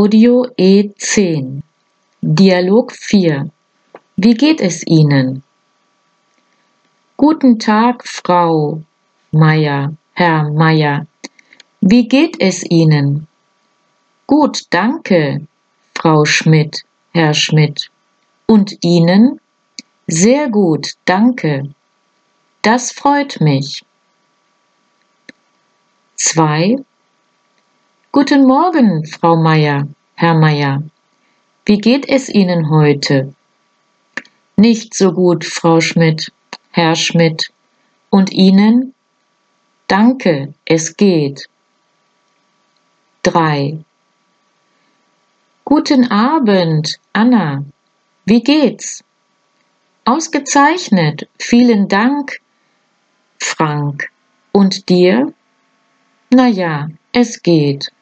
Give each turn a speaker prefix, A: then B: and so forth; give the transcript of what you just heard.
A: Audio E10. Dialog 4. Wie geht es Ihnen? Guten Tag, Frau Meier, Herr Meier. Wie geht es Ihnen? Gut, danke, Frau Schmidt, Herr Schmidt. Und Ihnen? Sehr gut, danke. Das freut mich. 2. Guten Morgen, Frau Meier, Herr Meier. Wie geht es Ihnen heute? Nicht so gut, Frau Schmidt, Herr Schmidt. Und Ihnen? Danke, es geht. 3. Guten Abend, Anna. Wie geht's? Ausgezeichnet, vielen Dank, Frank. Und dir? Na ja, es geht.